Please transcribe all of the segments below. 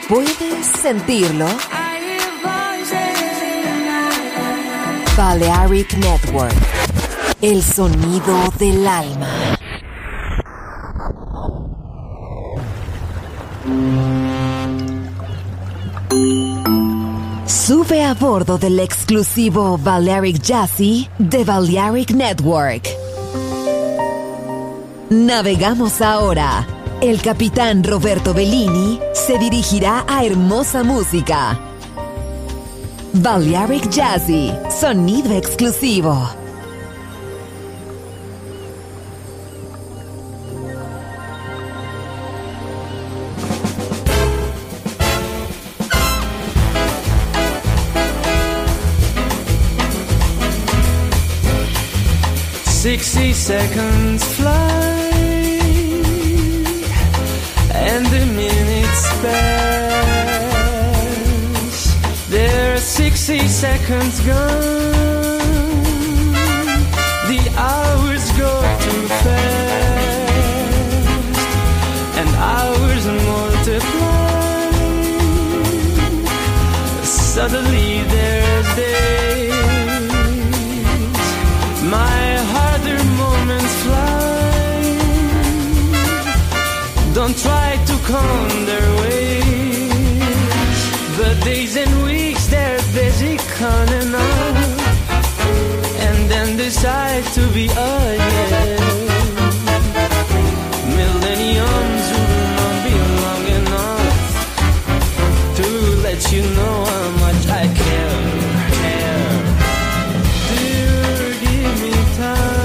¿Puedes sentirlo? Balearic Network, el sonido del alma. Sube a bordo del exclusivo Balearic Jazzy de Balearic Network. Navegamos ahora. El capitán Roberto Bellini se dirigirá a hermosa música. Balearic Jazzy, sonido exclusivo. "60 seconds fly, and the minutes pass. There are 60 seconds gone. The hours go too fast, and hours multiply. Suddenly there's days. My harder moments fly. Don't try to count their ways, but days and weeks they're busy counting up, and then decide to be again. Millenniums will not be long enough to let you know how much I care. Dear, give me time.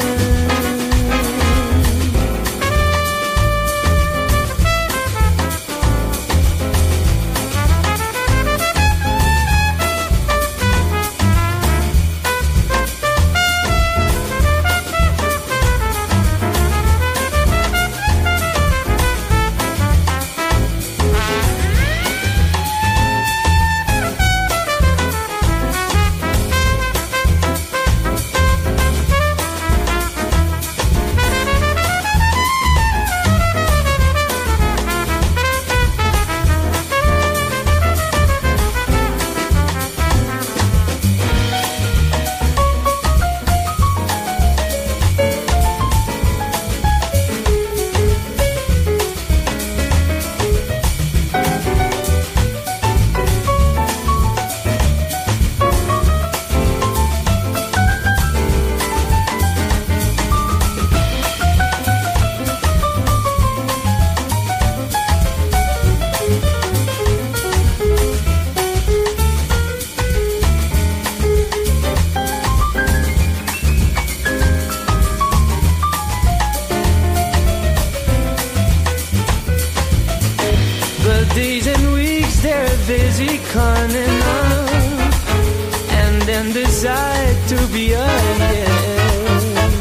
Days and weeks they're busy conning up, and then decide to be again.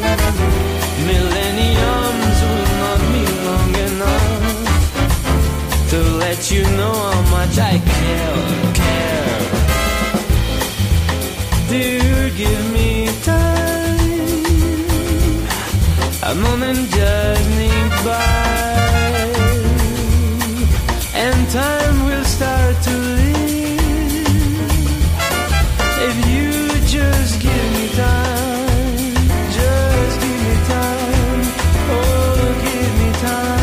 Millenniums will not be long enough to let you know how much I care. Dear, give me time. A moment just need by, and time will start to live if you just give me time. Just give me time. Oh, give me time.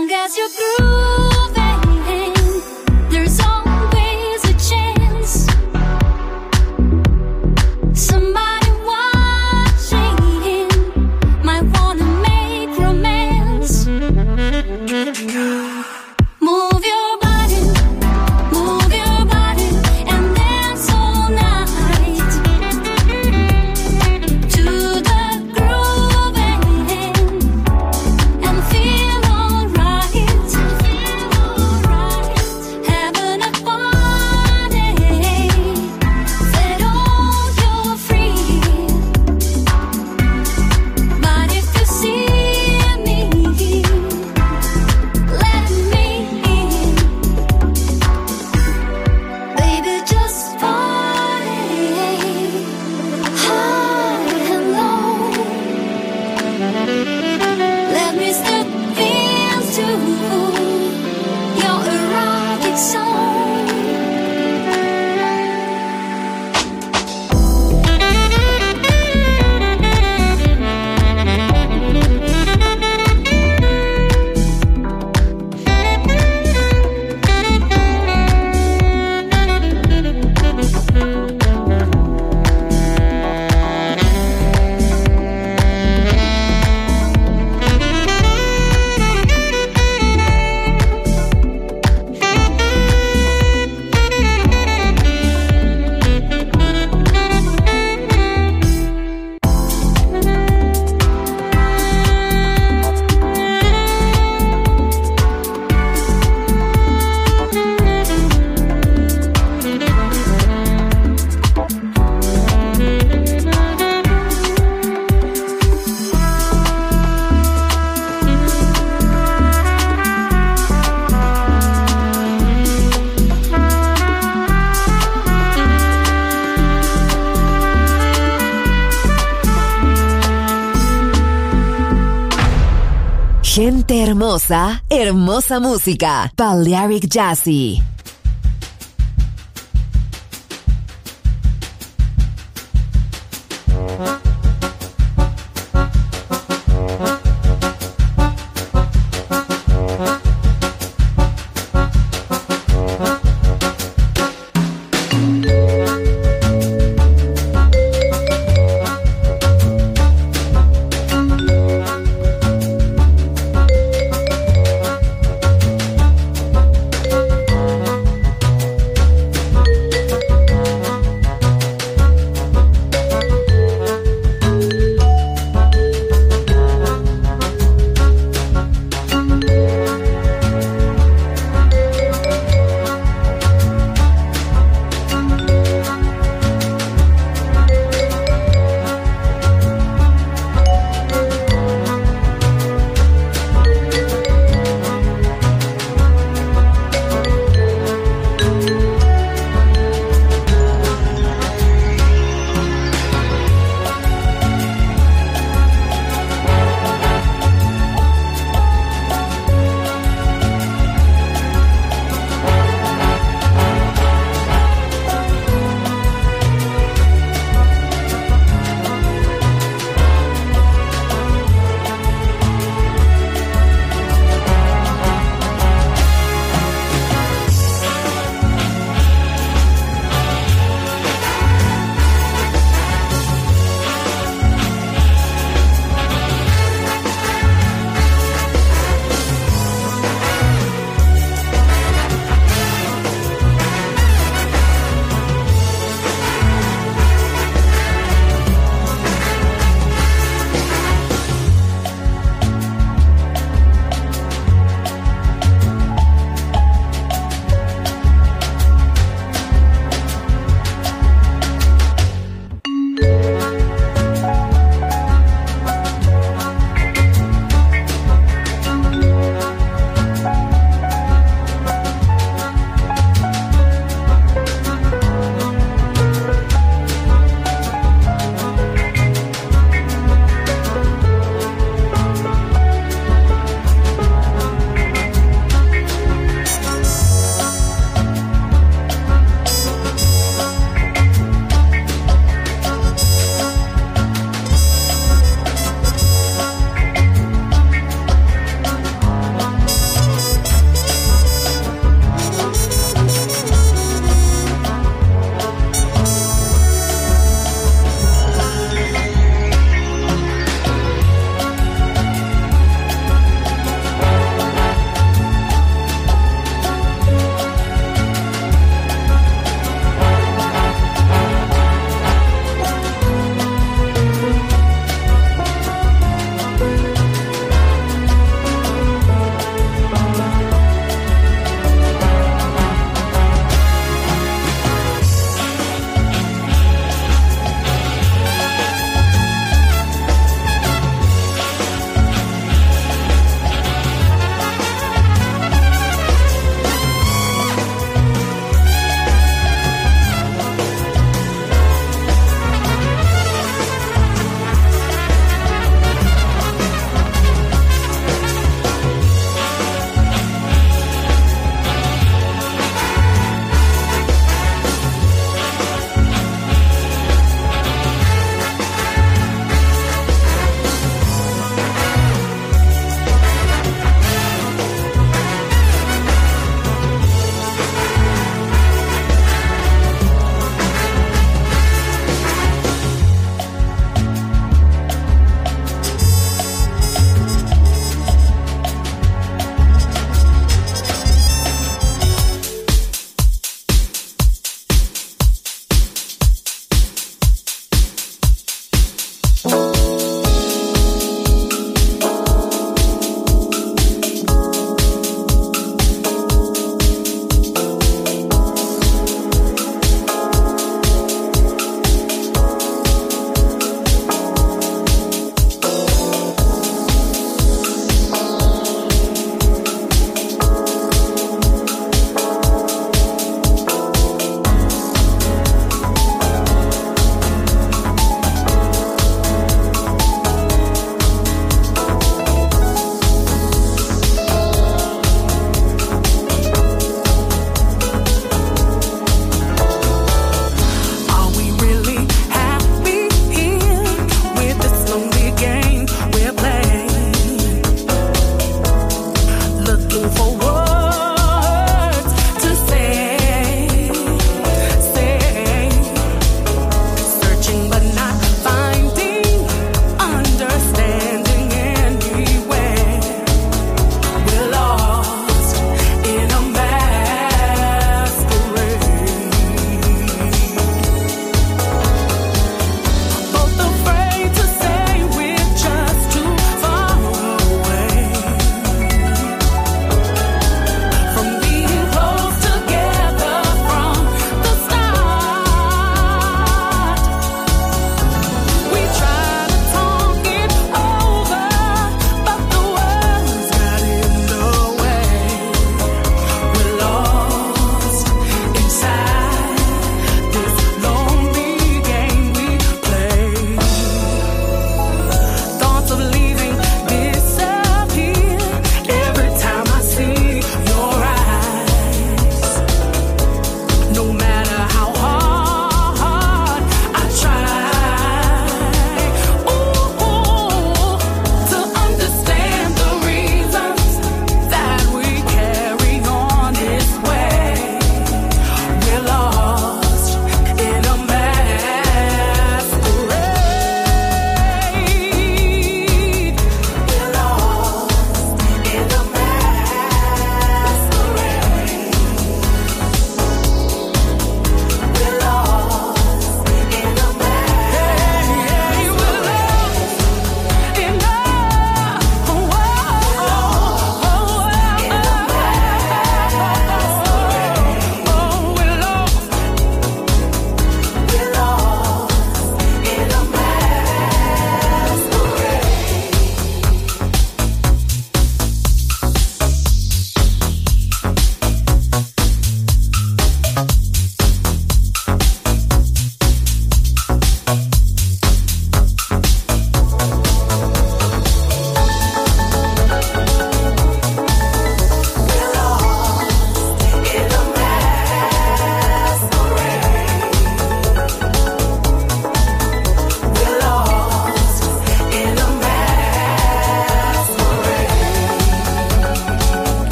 long as you're grooving, there's always a chance. Somebody watching might wanna make romance. Move your body, and dance all night to the grooving and feel alright. Having a party that all you're free. But if you see me, let me in. Baby, just party high and low. Let me step into your erotic zone. Gente hermosa, hermosa música. Balearic Jazzy.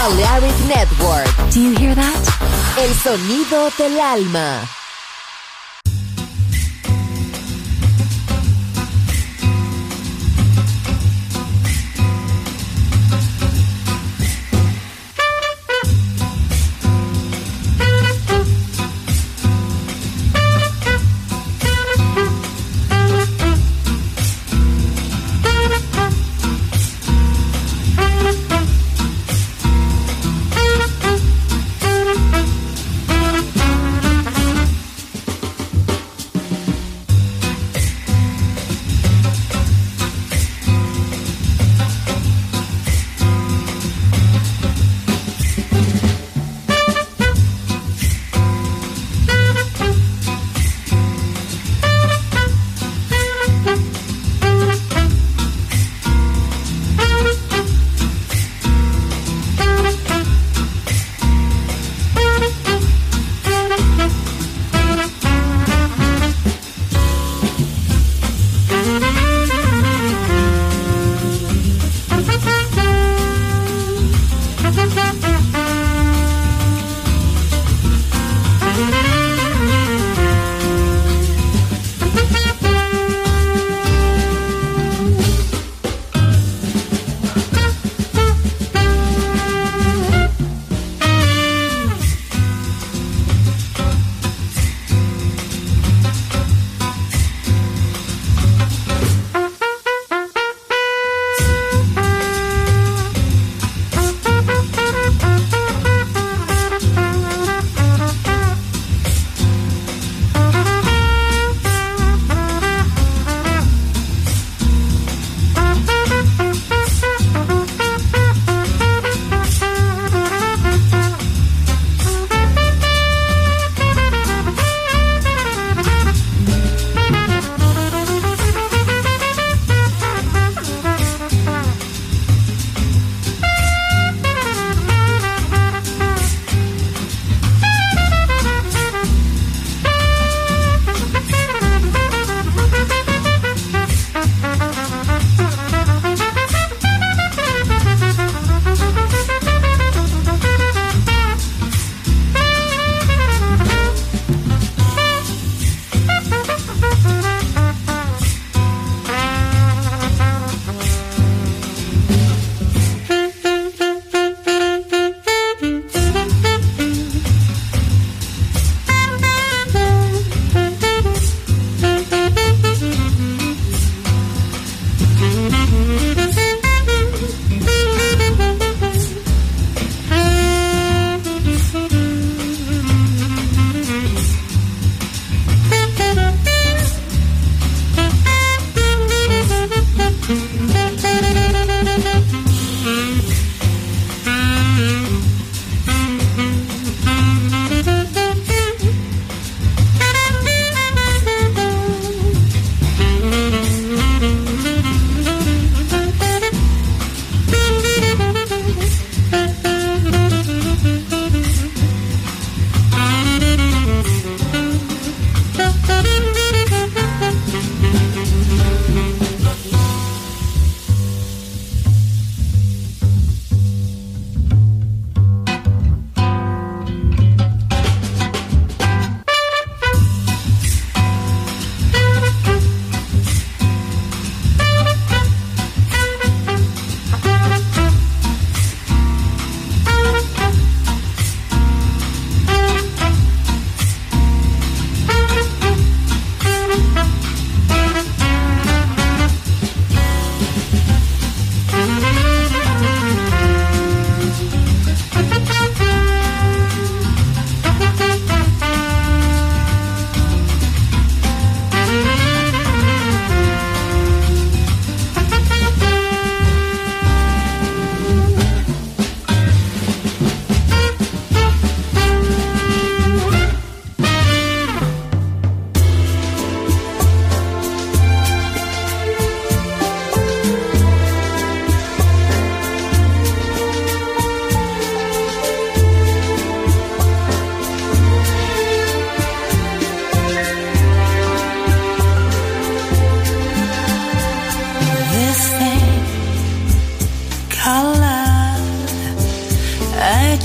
Balearic Network. Do you hear that? El sonido del alma.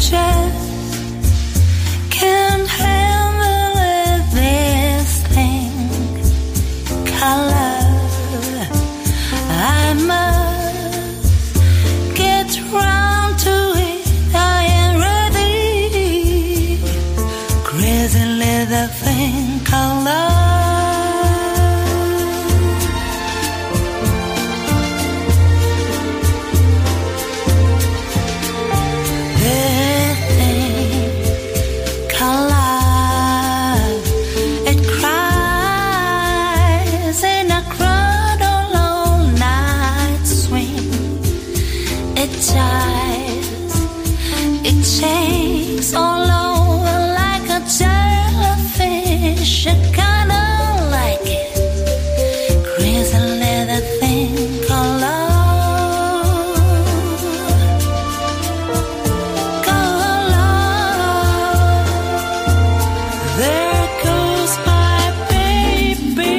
just can't handle this thing called love. I must get round to it. I am ready. Crazy little thing called love. It shakes all over like a jellyfish. I kinda like it. Crazy little thing called love. Called love. There goes my baby.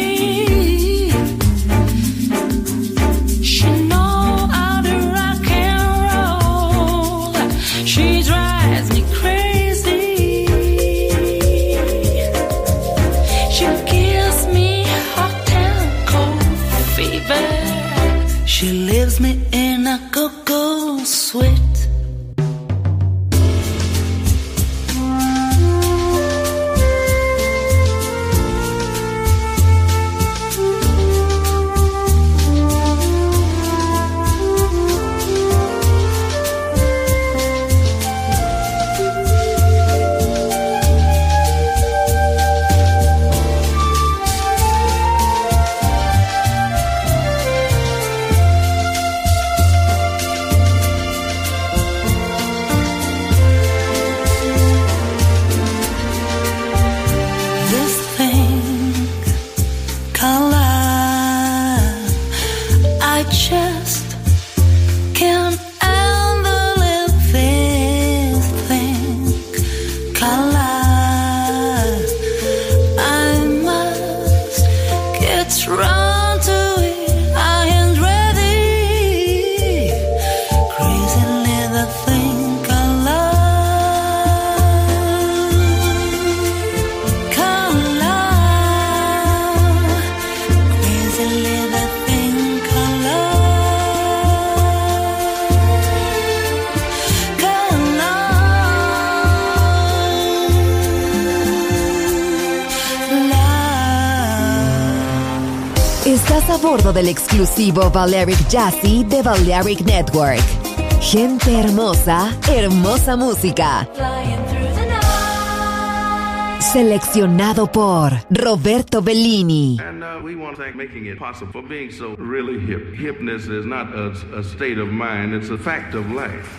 She knows how to rock and roll. She drives me crazy. She gives me hot and cold fever. She leaves me in a go-go sweat. Just can't handle it, this thing called love. I must get round to it. I am ready. Crazy little thing called love. Called love. Crazy little thing called love. Estás a bordo del exclusivo Balearic Jazzy de Balearic Network. Gente hermosa, hermosa música. Seleccionado por Roberto Bellini. And we want to thank making it possible for being so really hip. Hipness is not a state of mind, it's a fact of life.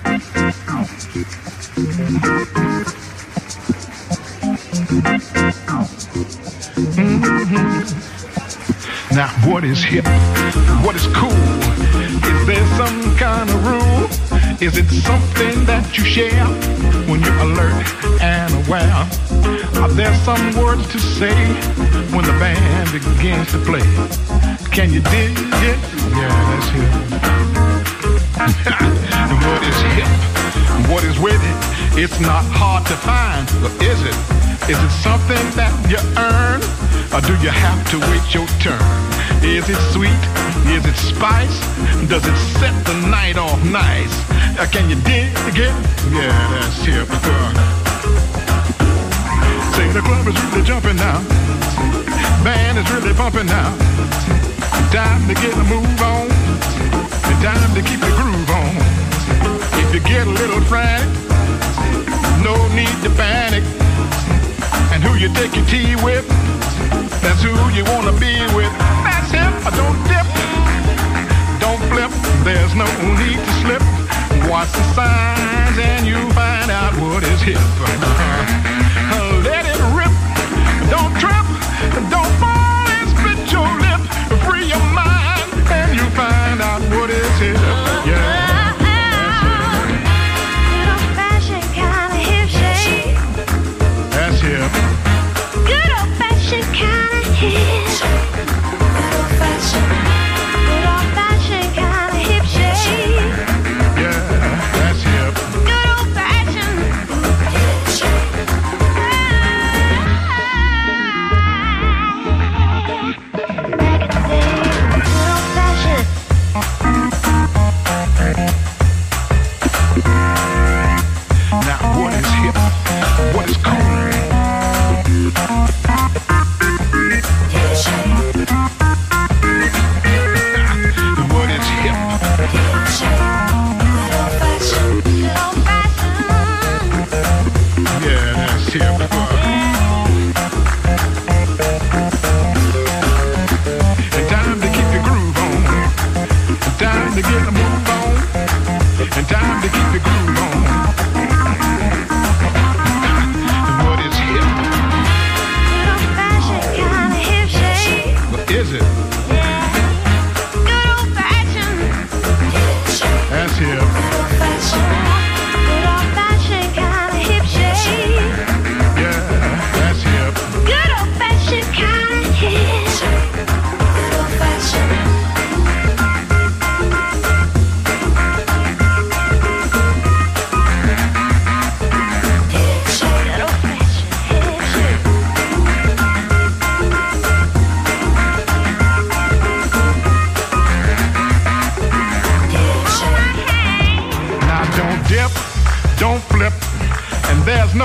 Now, what is hip? What is cool? Is there some kind of rule? Is it something that you share when you're alert and aware? Are there some words to say when the band begins to play? Can you dig it? Yeah, that's hip. And what is hip? What is with it? It's not hard to find, or is it? Is it something that you earn? Or do you have to wait your turn? Is it sweet? Is it spice? Does it set the night off nice? Can you dig it? Yeah, that's hip. Say the club is really jumping now. Band is really pumping now. Time to get a move on. And time to keep the groove on. If you get a little frantic, no need to panic. And who you take your tea with, that's who you wanna be with. That's him. Don't dip, don't flip. There's no need to slip. Watch the signs and you find out what is hip. Let it rip. Don't trip. Don't fall and split your lip. Free your mind and you find out what is hip. Yeah. Good old fashioned kind of hip. Good old fashioned kind of hip shake. Yeah, that's hip. Good old fashioned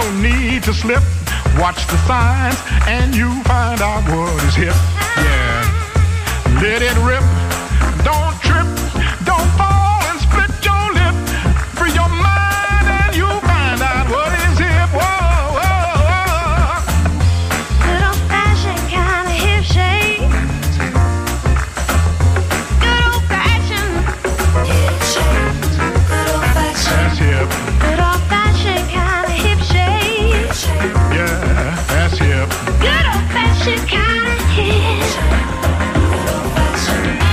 no need to slip. Watch the signs and you find out what is hip. Yeah, let it rip. Don't trip. Don't fall and split your lip. Free your mind and you find out what is hip. Whoa, whoa, whoa. Good old-fashioned kind of hip shake. Good old-fashioned hip shake. Good old-fashioned. That's hip. Good old-fashioned kind of hip shake. Yeah, that's hip. Good old-fashioned kind of hip. Good old-fashioned.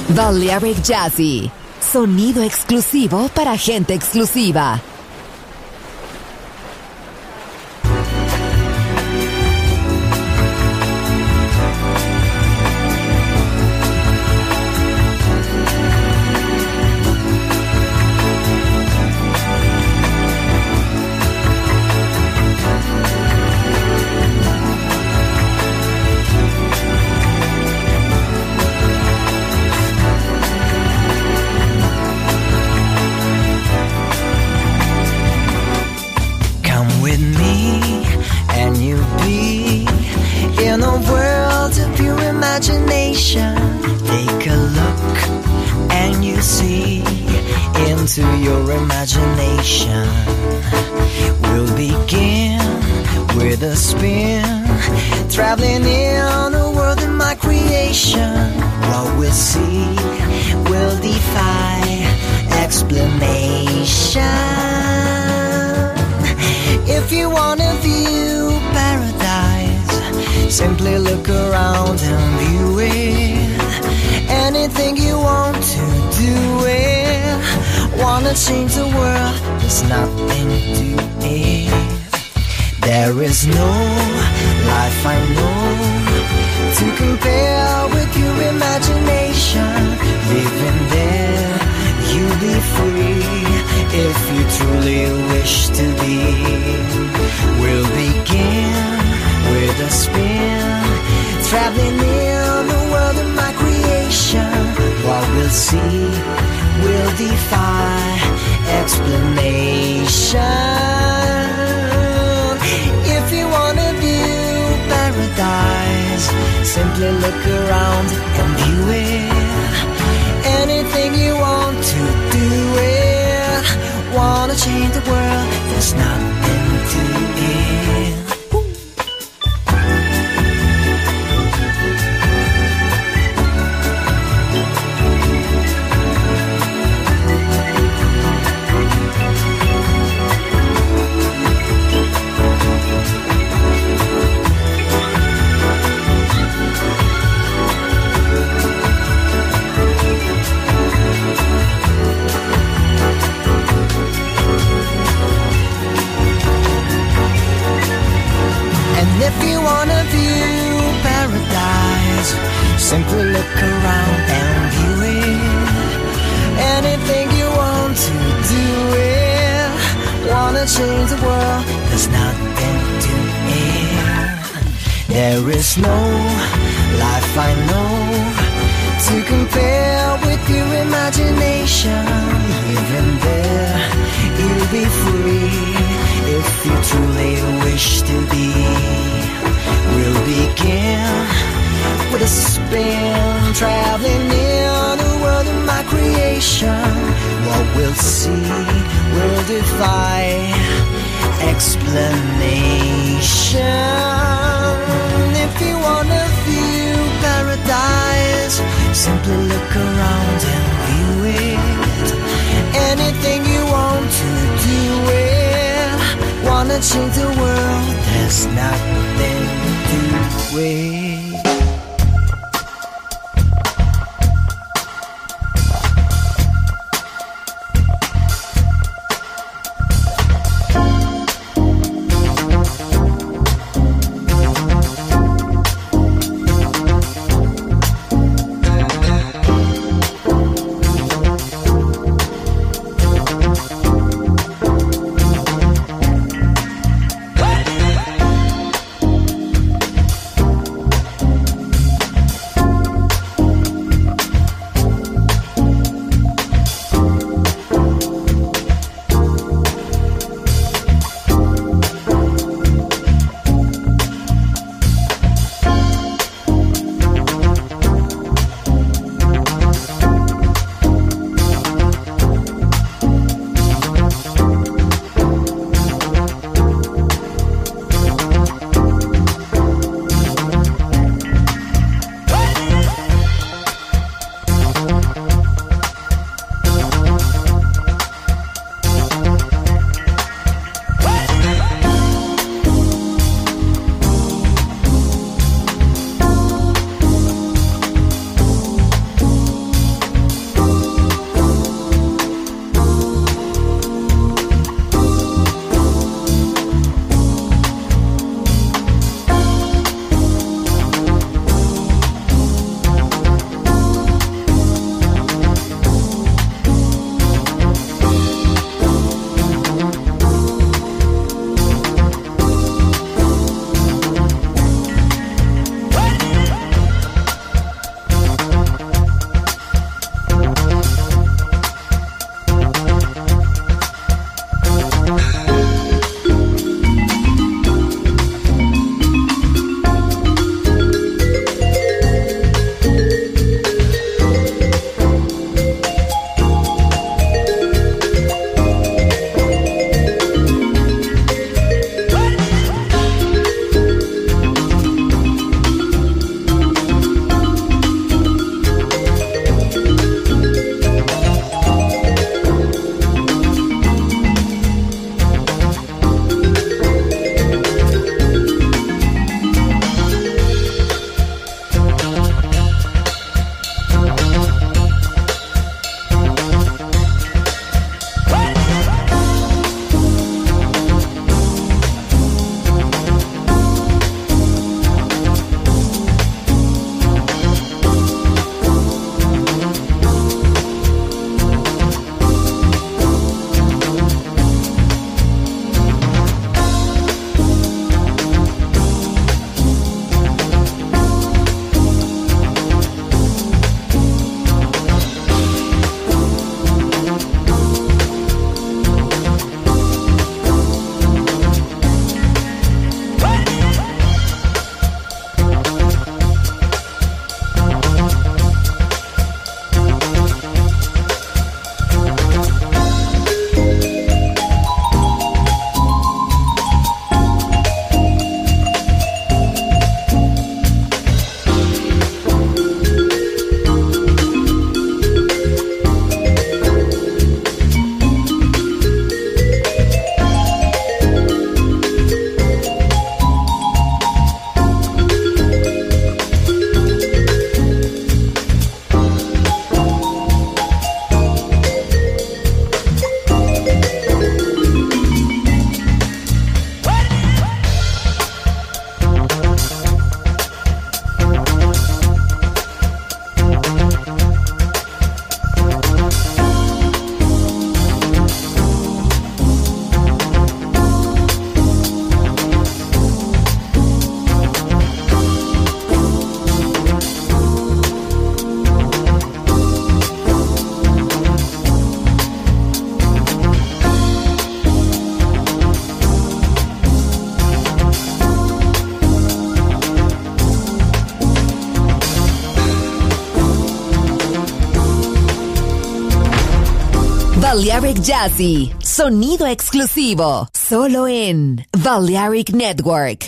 Balearic Jazzy. Sonido exclusivo para gente exclusiva. Take a look and you see into your imagination. We'll begin with a spin, traveling in the world of my creation. What we'll see will defy explanation. If you wanna view paradise, simply look around and view it. Anything you want to do it. Wanna change the world, there's nothing to it. There is no life I know to compare with your imagination. Living there, you'll be free if you truly wish to be. We'll begin with a spin, traveling in the world of my creation. What we'll see will defy explanation. If you wanna view paradise, simply look around and view it. Anything you want to do it. Wanna change the world, there's nothing to it. If you wanna view paradise, simply look around and view it. Anything you want to do it. Wanna change the world, there's nothing to it. There is no life I know to compare with your imagination. Even there, you'll be free if you truly wish to be. We'll begin with a spin, traveling in the world of my creation. What we'll see will defy explanation. If you wanna view paradise, simply look around and view it. Anything you want to do it. Wanna change the world, there's nothing to it. Balearic Jazzy, sonido exclusivo, solo en Balearic Network.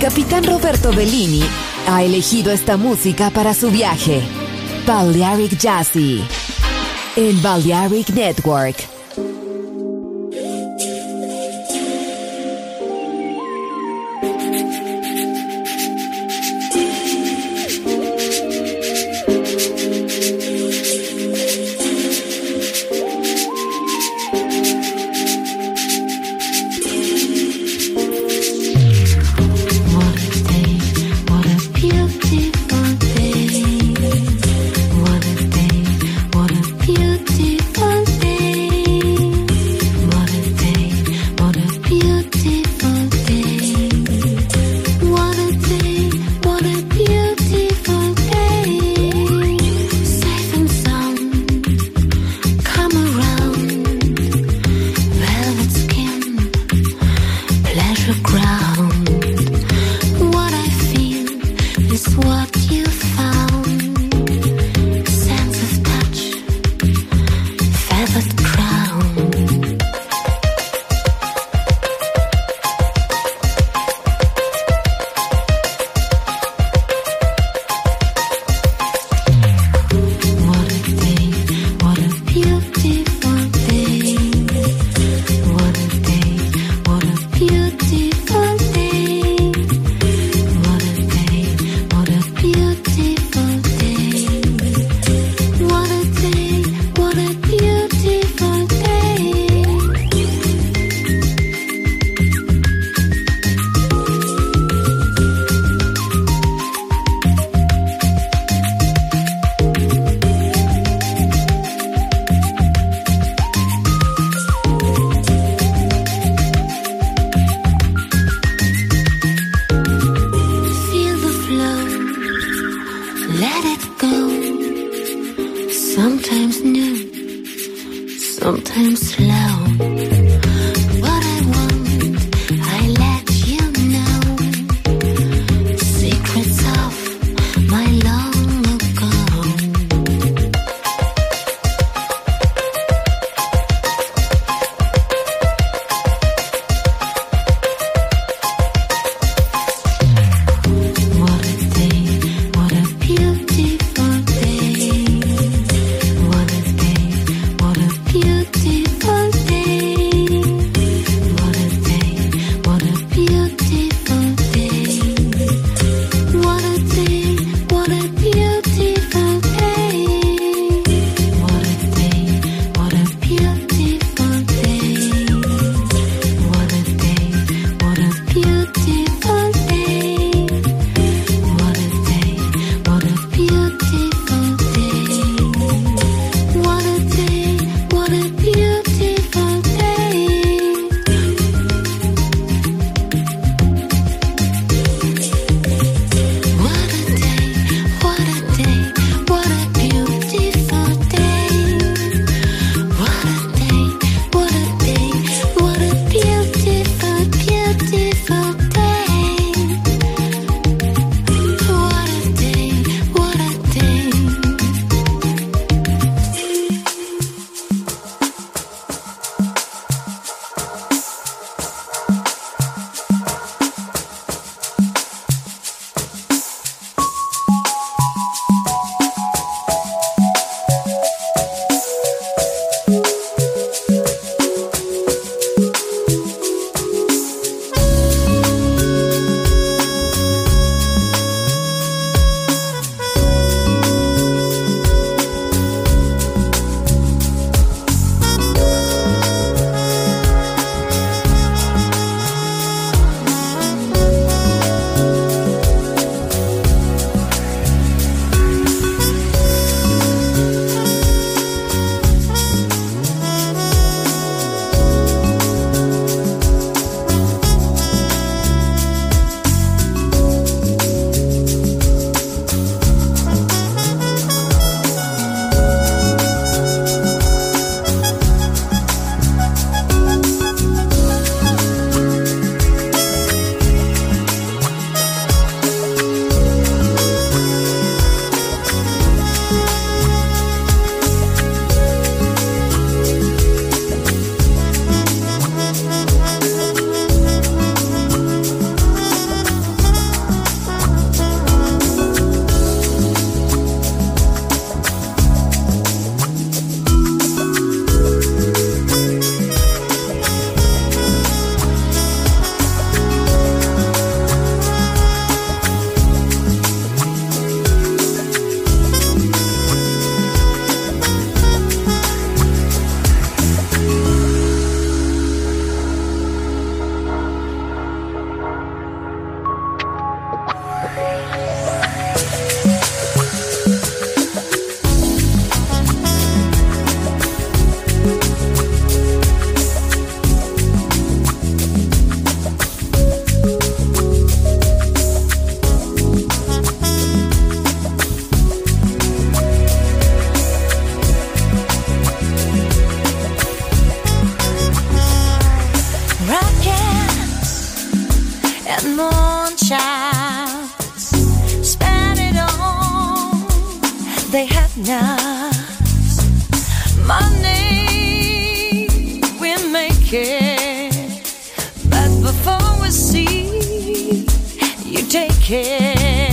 capitán Roberto Bellini ha elegido esta música para su viaje. Balearic Jazzy en Balearic Network. Beautiful day. happiness. Money we make it, but before we see, you take it.